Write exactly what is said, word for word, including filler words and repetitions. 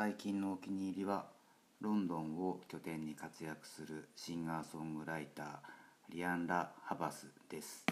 最近のお気に入りはロンドンを拠点に活躍するシンガーソングライターリアン・ラ・ハバスです。